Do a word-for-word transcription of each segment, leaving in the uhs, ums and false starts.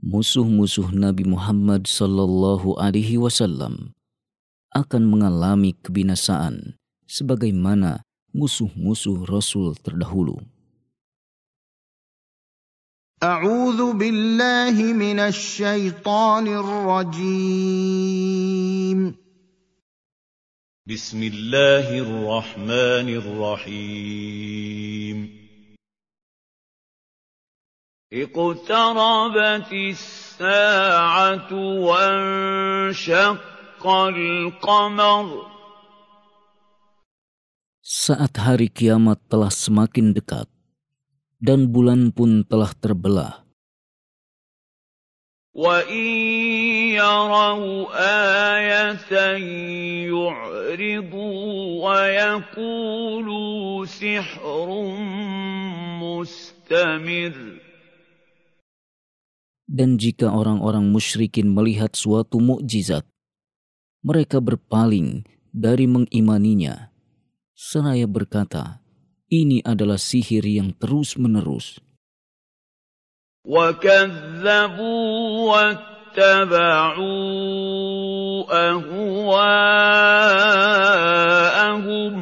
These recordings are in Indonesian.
musuh-musuh Nabi Muhammad sallallahu alaihi wasallam akan mengalami kebinasaan sebagaimana musuh-musuh Rasul terdahulu. A'udzu billahi minasy syaithanir rajim. Bismillahirrahmanirrahim. Iqtarabatis sa'atu wanshaqqal qamar. Saat hari kiamat telah semakin dekat dan bulan pun telah terbelah. وَإِنْ يَرَوْا آيَةً يُعْرِضُوا وَيَقُولُوا سِحْرٌ مُسْتَمِرٌّ. Dan jika orang-orang musyrikin melihat suatu mukjizat, mereka berpaling dari mengimaninya, seraya berkata, ini adalah sihir yang terus-menerus. وَكَذَّبُوا وَاتَّبَعُوا أَهْوَاءَهُمْ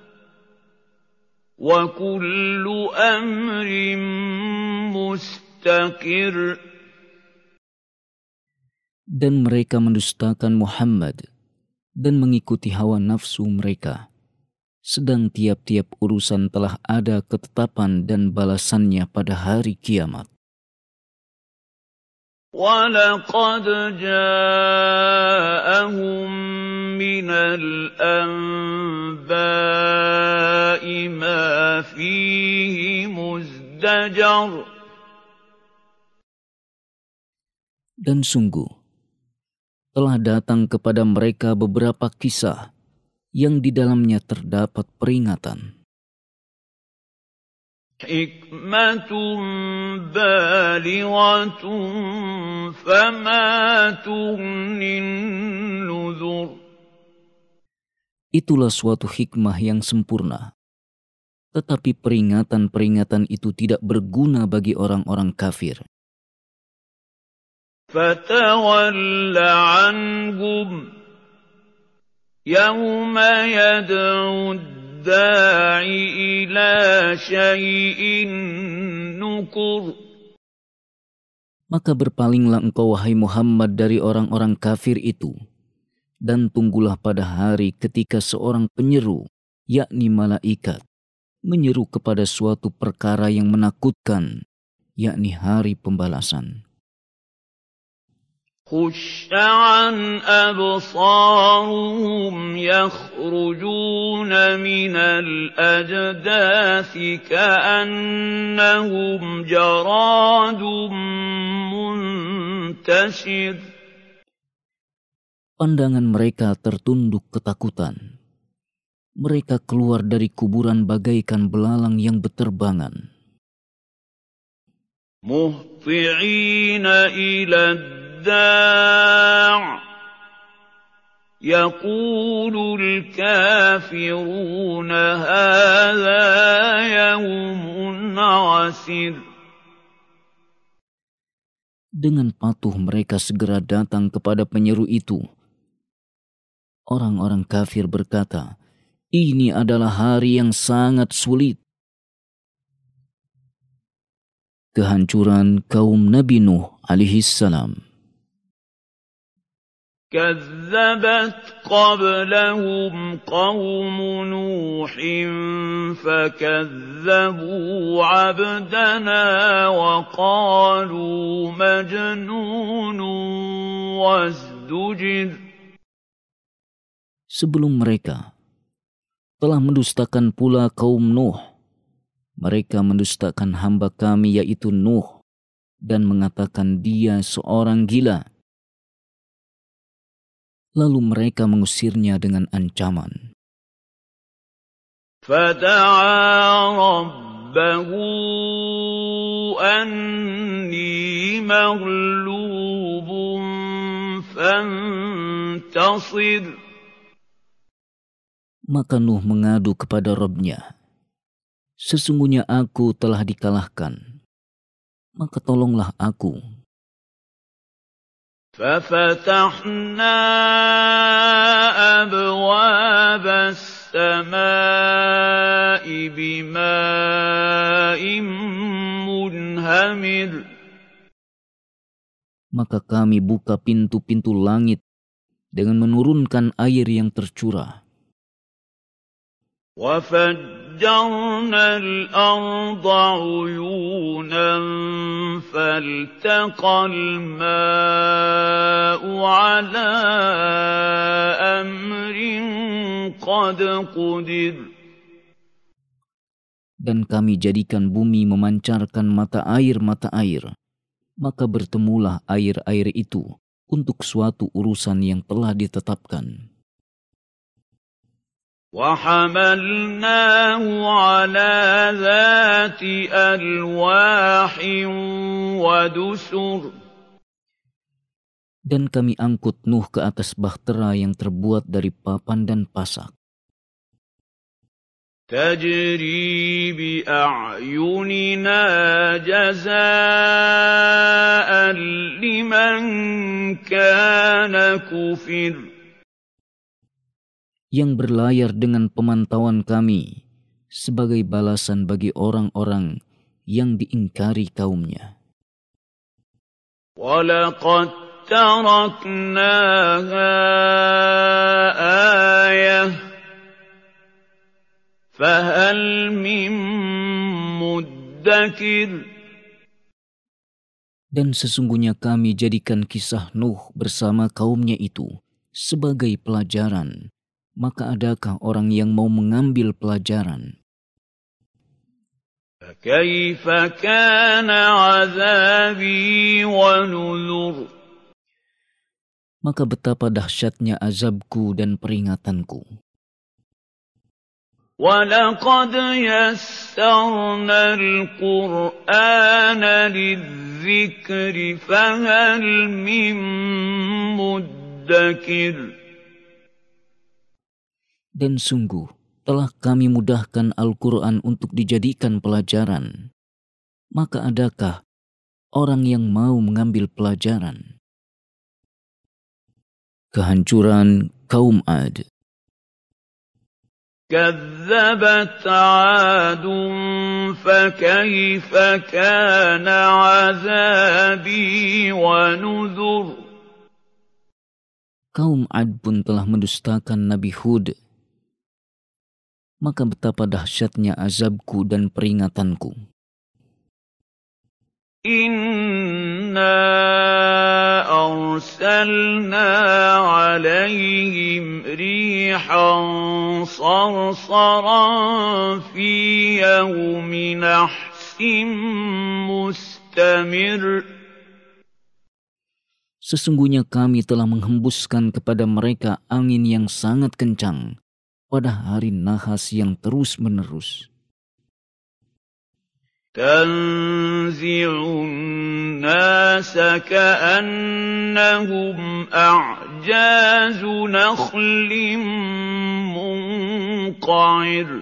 وَكُلُّ أَمْرٍ مُسْتَقِرٌّ. Dan mereka mendustakan Muhammad dan mengikuti hawa nafsu mereka, sedang tiap-tiap urusan telah ada ketetapan dan balasannya pada hari kiamat. وَلَقَدْ جَاءَهُم مِّنَ الْأَنبَاءِ مَا فِيهِ مُزْدَجَرٌ. Dan sungguh, telah datang kepada mereka beberapa kisah yang di dalamnya terdapat peringatan. Hikmatun balighatun fama tughnin nuzur. Itulah suatu hikmah yang sempurna, tetapi peringatan-peringatan itu tidak berguna bagi orang-orang kafir. Fatawalla anhum yawma yad'ud da'i ila syai'in nukur. Maka berpalinglah engkau wahai Muhammad dari orang-orang kafir itu, dan tunggulah pada hari ketika seorang penyeru, yakni malaikat, menyeru kepada suatu perkara yang menakutkan, yakni hari pembalasan. خُشَّ عَنْ أَبْصَارُهُمْ يَخْرُجُونَ مِنَ الْأَجْدَاثِ كَأَنَّهُمْ جَرَادٌ مُنْتَشِرٌ. Pandangan mereka tertunduk ketakutan. Mereka keluar dari kuburan bagaikan belalang yang beterbangan. مُهْطِعِينَ إِلَى الدَّاعِ يَقُولُ الْكَافِرُونَ هَذَا يَوْمٌ عَسِرٌ. Dengan patuh mereka segera datang kepada penyeru itu. Orang-orang kafir berkata, ini adalah hari yang sangat sulit. Kehancuran kaum Nabi Nuh alaihi salam. كَذَّبَتْ قَبْلَهُمْ قَوْمُ نُوحٍ فَكَذَّبُوا عَبْدَنَا وَقَالُوا مَجْنُونٌ وَازْدُجِرَ. Sebelum mereka, telah mendustakan pula kaum Nuh. Mereka mendustakan hamba kami yaitu Nuh dan mengatakan dia seorang gila. Lalu mereka mengusirnya dengan ancaman. فَدَعَا رَبَّهُ أَنِّي مَغْلُوبٌ فَانتَصِرْ. Maka Nuh mengadu kepada Rabb-Nya, sesungguhnya aku telah dikalahkan, maka tolonglah aku. فَفَتَحْنَا أَبْوَابَ السَّمَاءِ بِمَاءٍ مُنْهَمِرٍ. Maka kami buka pintu-pintu langit dengan menurunkan air yang tercurah. وَفَجَّرْنَا الْأَرْضَ عُيُونًا فَالْتَقَى الْمَاءُ عَلَىٰ أَمْرٍ قَدْ قُدِرَ. Dan kami jadikan bumi memancarkan mata air-mata air, maka bertemulah air-air itu untuk suatu urusan yang telah ditetapkan. وَحَمَلْنَاهُ عَلَى ذَاتِ أَلْوَاحٍ وَدُسُرٍ. Dan kami angkut Nuh ke atas bahtera yang terbuat dari papan dan pasak. تَجْرِي بِأَعْيُنِنَا جَزَاءً لِمَنْ كَانَ كُفِرَ. Yang berlayar dengan pemantauan kami sebagai balasan bagi orang-orang yang diingkari kaumnya. وَلَقَدْ تَرَكْنَاهَا آيَةً فَهَلْ مِن مُّدَّكِرٍ. Dan sesungguhnya kami jadikan kisah Nuh bersama kaumnya itu sebagai pelajaran. Maka adakah orang yang mau mengambil pelajaran? فَكَيْفَ كَانَ عَذَابِي وَنُذُرِ. Maka betapa dahsyatnya azabku dan peringatanku. وَلَقَدْ يَسَّرْنَا الْقُرْآنَ لِلذِّكْرِ فَهَلْ مِن مُّدَّكِرٍ. Dan sungguh telah kami mudahkan Al-Quran untuk dijadikan pelajaran. Maka adakah orang yang mau mengambil pelajaran? Kehancuran kaum Ad. كَذَّبَتْ عَادٌ فَكَيْفَ كَانَ عَذَابِي وَنُذُرِ. Kaum Ad pun telah mendustakan Nabi Hud. Maka betapa dahsyatnya azabku dan peringatanku. Inna arsalna alaihim rihan sarsaran fi yawmi nahsin mustamir. Sesungguhnya kami telah menghembuskan kepada mereka angin yang sangat kencang pada hari nahas yang terus-menerus. Tanzi'un nasa ka'annahum a'jazu nakhlim munqa'ir.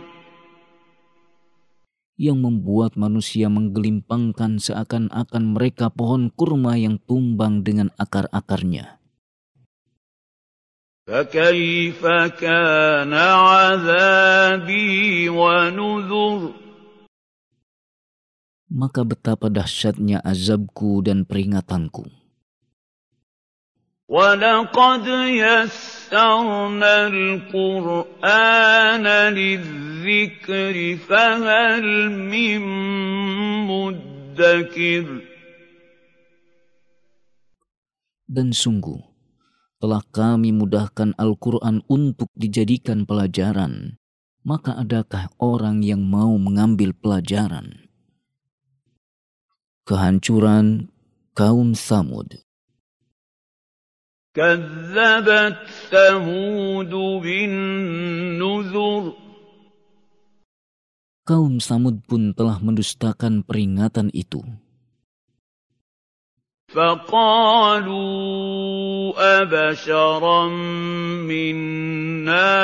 Yang membuat manusia menggelimpangkan seakan-akan mereka pohon kurma yang tumbang dengan akar-akarnya. فَكَيْفَ كَانَ عَذَابِي وَنُذُرِ. Maka betapa dahsyatnya azabku dan peringatanku. وَلَقَدْ يَسَّرْنَا الْقُرْآنَ لِلذِّكْرِ فَهَلْ مِن مُّدَّكِرٍ. Dan sungguh telah kami mudahkan Al-Quran untuk dijadikan pelajaran, maka adakah orang yang mau mengambil pelajaran? Kehancuran kaum Tsamud. كَذَّبَتْ ثَمُودُ بِالنُّذُرِ. Kaum Tsamud pun telah mendustakan peringatan itu. فَقَالُوا أَبَشَرًا مِّنَّا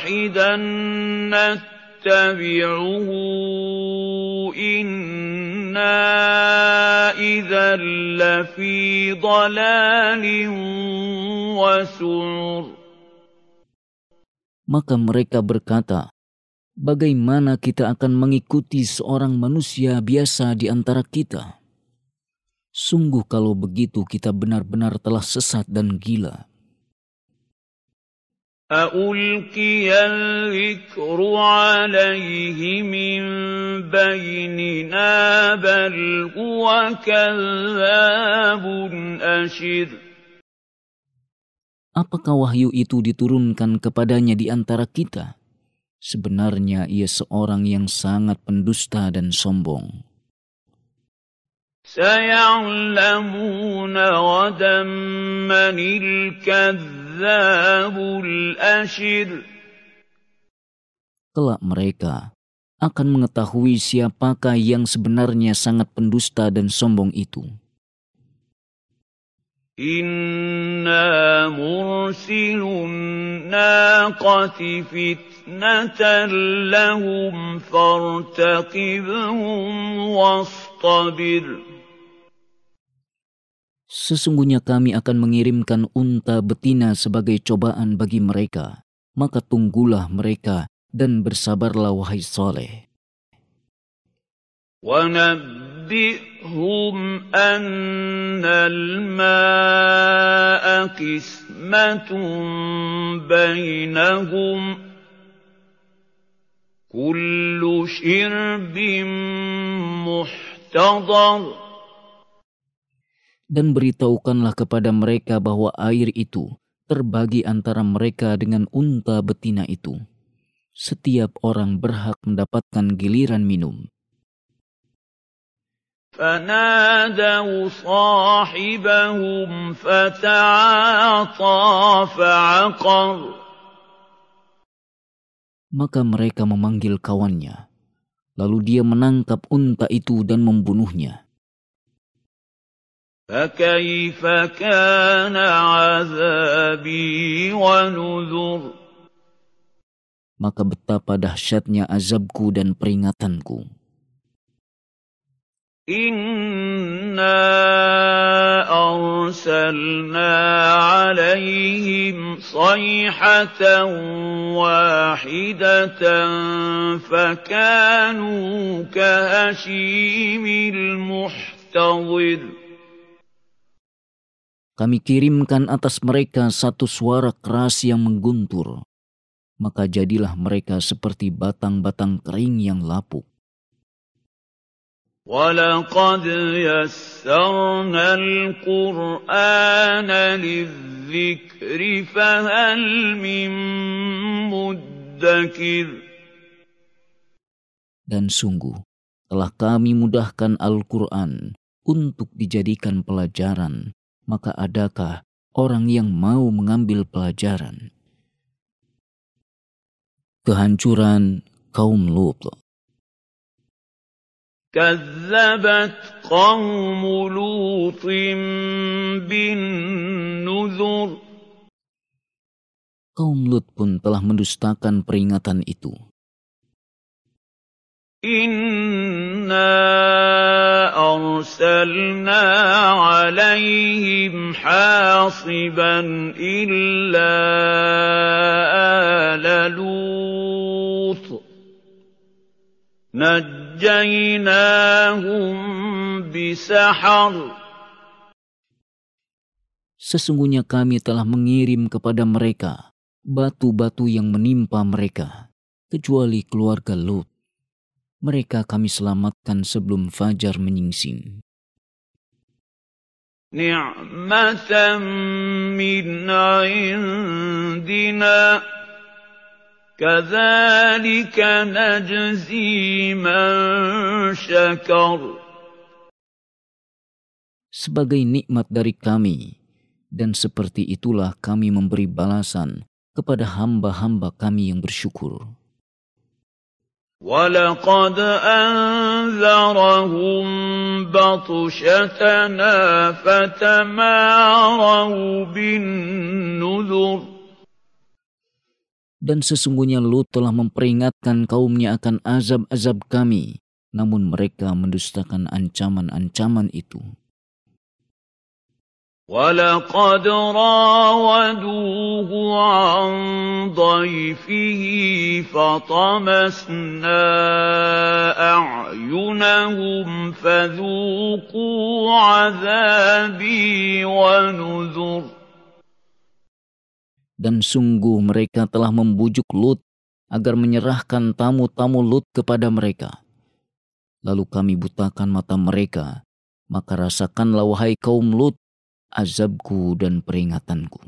وَاحِدًا نَّتَّبِعُهُ إِنَّا إِنَّا إِذًا لَّفِي ضَلَالٍ وَسُعُرٍ. Maka mereka berkata, bagaimana kita akan mengikuti seorang manusia biasa di antara kita? Sungguh kalau begitu kita benar-benar telah sesat dan gila. أَأُلْقِيَ الذِّكْرُ عَلَيْهِ مِن بَيْنِنَا بَلْ هُوَ كَذَّابٌ أَشِرٌ. Apakah wahyu itu diturunkan kepadanya di antara kita? Sebenarnya ia seorang yang sangat pendusta dan sombong. سَيَعْلَمُونَ غَدًا مَّنِ الْكَذَّابُ الْأَشِرُ. Kelak mereka akan mengetahui siapakah yang sebenarnya sangat pendusta dan sombong itu. إِنَّا مُرْسِلُو النَّاقَةِ فِتْنَةً لَّهُمْ فَارْتَقِبْهُمْ وَاصْطَبِرْ. Sesungguhnya kami akan mengirimkan unta betina sebagai cobaan bagi mereka. Maka tunggulah mereka dan bersabarlah wahai Saleh. وَنَبِّئْهُمْ أَنَّ الْمَاءَ قِسْمَةٌ بَيْنَهُمْ كُلُّ شِرْبٍ مُحْتَضَرٍ. Dan beritahukanlah kepada mereka bahwa air itu terbagi antara mereka dengan unta betina itu. Setiap orang berhak mendapatkan giliran minum. فَنَادَوْا صَاحِبَهُمْ فَتَعَاطَىٰ فَعَقَرَ. Maka mereka memanggil kawannya. Lalu dia menangkap unta itu dan membunuhnya. فَكَيْفَ كَانَ عَذَابِي وَنُذُرِ. Maka betapa dahsyatnya azabku dan peringatanku. إِنَّا أَرْسَلْنَا عَلَيْهِمْ صَيْحَةً وَاحِدَةً فَكَانُوا كَهَشِيمِ الْمُحْتَظِرِ. Kami kirimkan atas mereka satu suara keras yang mengguntur. Maka jadilah mereka seperti batang-batang kering yang lapuk. وَلَقَدْ يَسَّرْنَا الْقُرْآنَ لِلذِّكْرِ فَهَلْ مِن مُّدَّكِرٍ. Dan sungguh, telah kami mudahkan Al-Quran untuk dijadikan pelajaran, maka adakah orang yang mau mengambil pelajaran? Kehancuran kaum Lut. كَذَّبَتْ قَوْمُ لُوطٍ بِالنُّذُرِ. Kaum Lut pun telah mendustakan peringatan itu. إِنَّا أَرْسَلْنَا عَلَيْهِمْ حَاصِبًا إِلَّا آلَ لُوطٍ نَجَّيْنَاهُمْ بِسَحَرٍ. Sesungguhnya kami telah mengirim kepada mereka batu-batu yang menimpa mereka, kecuali keluarga Lut. Mereka kami selamatkan sebelum fajar menyingsing. نِعْمَةً مِّنْ عِندِنَا كَذَلِكَ نَجْزِي مَن شَكَرَ. Sebagai nikmat dari kami, dan seperti itulah kami memberi balasan kepada hamba-hamba kami yang bersyukur. وَلَقَدْ أَنذَرَهُم بَطْشَتَنَا فَتَمَارَوْا بِالنُّذُرِ. Dan sesungguhnya Lut telah memperingatkan kaumnya akan azab-azab kami, namun mereka mendustakan ancaman-ancaman itu. وَلَقَدْ رَاوَدُوهُ عَن ضَيْفِهِ فَطَمَسْنَا أَعْيُنَهُمْ فَذُوقُوا عَذَابِي وَنُذُرِ. Dan sungguh mereka telah membujuk Lut agar menyerahkan tamu-tamu Lut kepada mereka. Lalu kami butakan mata mereka, maka rasakanlah wahai kaum Lut azabku dan peringatanku.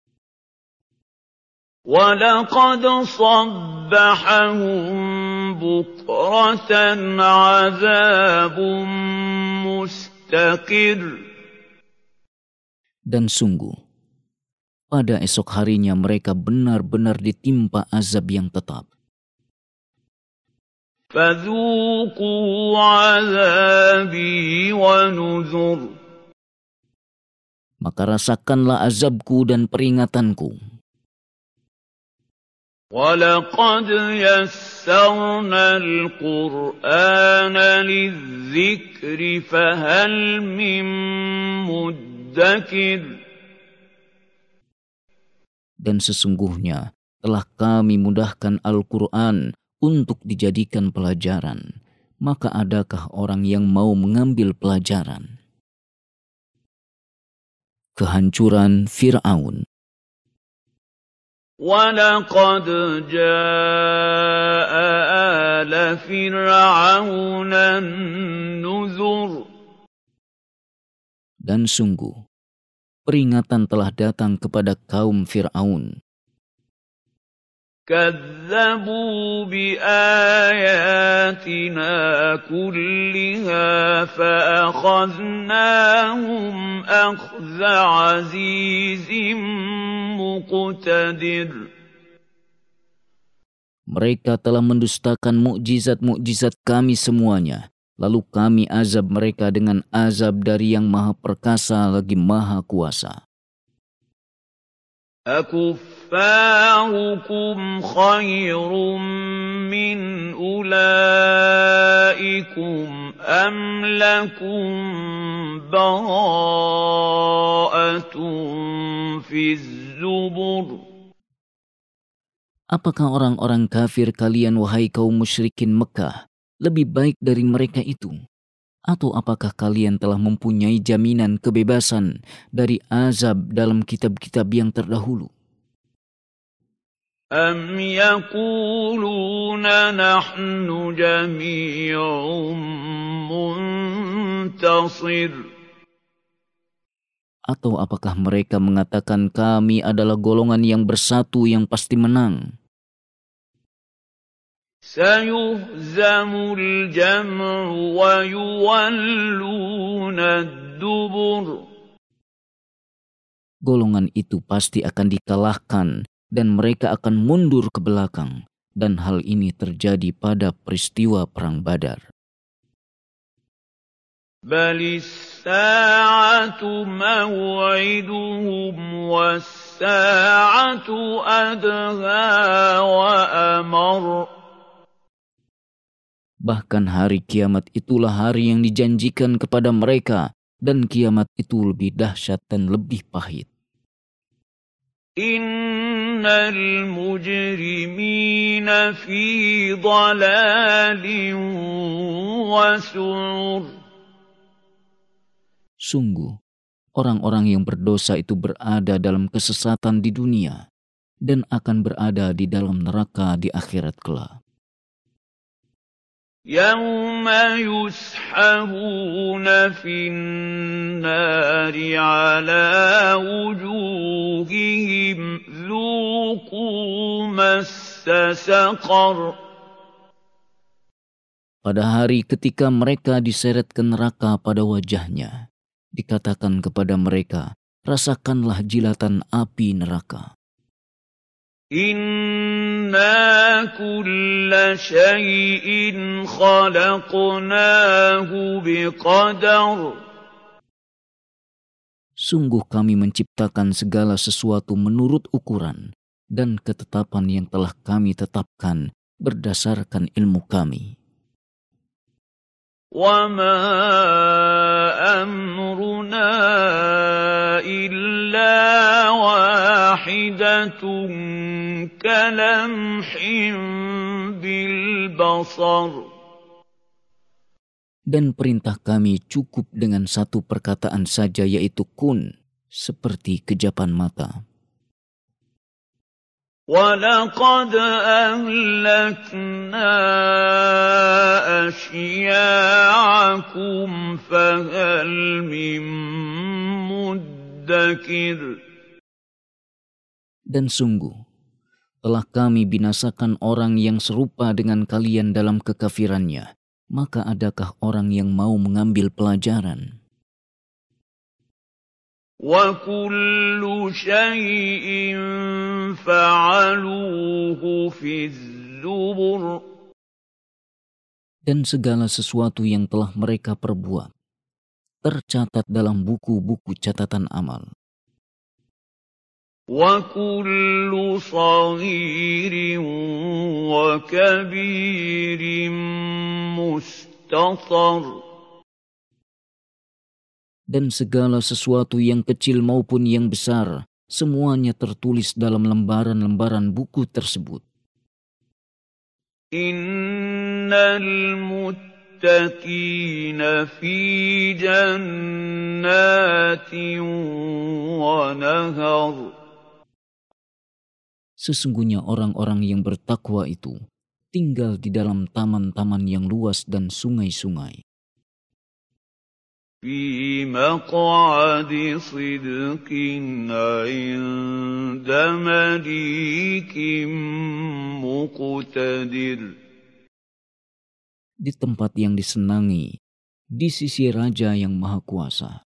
وَلَقَدْ صَبَّحَهُم بُكْرَةً عَذَابٌ مُسْتَقِرٌّ. Dan sungguh, pada esok harinya mereka benar-benar ditimpa azab yang tetap. فَذُوقُوا عَذَابِي وَنُذُرِ. Maka rasakanlah azabku dan peringatanku. وَلَقَدْ يَسَّرْنَا الْقُرْآنَ لِلذِّكْرِ فَهَلْ مِن مُّدَّكِرٍ. Dan sesungguhnya telah kami mudahkan Al-Quran untuk dijadikan pelajaran. Maka adakah orang yang mau mengambil pelajaran? Kehancuran Fir'aun. وَلَقَدْ جَاءَ آلَ فِرْعَوْنَ النُّذُرُ. Dan sungguh, peringatan telah datang kepada kaum Fir'aun. كَذَّبُوا بِآيَاتِنَا كُلِّهَا فَأَخَذْنَاهُمْ أَخْذَ عَزِيزٍ مُقْتَدِرٍ. Mereka telah mendustakan mukjizat-mukjizat kami semuanya. Lalu kami azab mereka dengan azab dari yang maha perkasa lagi maha kuasa. أَكُفَّارُكُمْ خَيْرٌ مِّنْ أُولَئِكُمْ أَمْ لَكُمْ بَرَاءَةٌ فِي الزُّبُرِ. Apakah orang-orang kafir kalian, wahai kaum musyrikin Mekah, lebih baik dari mereka itu? Atau apakah kalian telah mempunyai jaminan kebebasan dari azab dalam kitab-kitab yang terdahulu? أَمْ يَقُولُونَ نَحْنُ جَمِيعٌ مُّنتَصِرٌ. Atau apakah mereka mengatakan kami adalah golongan yang bersatu yang pasti menang? سَيُهْزَمُ الْجَمْعُ وَيُوَلُّونَ الدُّبُرَ. Golongan itu pasti akan dikalahkan dan mereka akan mundur ke belakang. Dan hal ini terjadi pada peristiwa Perang Badar. بَلِ السَّاعَةُ مَوْعِدُهُمْ وَالسَّاعَةُ أَدْهَىٰ وَأَمَرُّ. Bahkan hari kiamat itulah hari yang dijanjikan kepada mereka, dan kiamat itu lebih dahsyat dan lebih pahit. Innal mujrimina fi dhalalin wa su'ur. Sungguh, orang-orang yang berdosa itu berada dalam kesesatan di dunia dan akan berada di dalam neraka di akhirat kelak. يَوْمَ يُسْحَبُونَ فِي النَّارِ عَلَى وُجُوهِهِمْ ذُوقُوا مَسَّ سَقَرَ. Pada hari ketika mereka diseret ke neraka pada wajahnya, dikatakan kepada mereka, rasakanlah jilatan api neraka. Inna kulla syai'in khalaqnahu biqadar. Sungguh kami menciptakan segala sesuatu menurut ukuran dan ketetapan yang telah kami tetapkan berdasarkan ilmu kami. وَمَا أَمْرُنَا إِلَّا وَاحِدَةٌ كَلَمْحٍ بِالْبَصَرِ. Dan perintah kami cukup dengan satu perkataan saja, yaitu kun, seperti kejapan mata. وَلَقَدْ أَهْلَكْنَا أَشْيَاعَكُمْ فَهَلْ مِن مُّدَّكِرٍ. Dan sungguh, telah kami binasakan orang yang serupa dengan kalian dalam kekafirannya, maka adakah orang yang mau mengambil pelajaran? وَكُلُّ شَيْءٍ فَعَلُوهُ فِي الزُّبُرِ. Dan segala sesuatu yang telah mereka perbuat tercatat dalam buku-buku catatan amal. وَكُلُّ صَغِيرٍ وَكَبِيرٍ مُسْتَطَرٍ. Dan segala sesuatu yang kecil maupun yang besar, semuanya tertulis dalam lembaran-lembaran buku tersebut. Innal muttaqina fi jannatin wa nahar. Sesungguhnya orang-orang yang bertakwa itu tinggal di dalam taman-taman yang luas dan sungai-sungai. Fi maq'adi sidqin 'inda malikin muqtadir. Di tempat yang disenangi, di sisi Raja yang Maha Kuasa.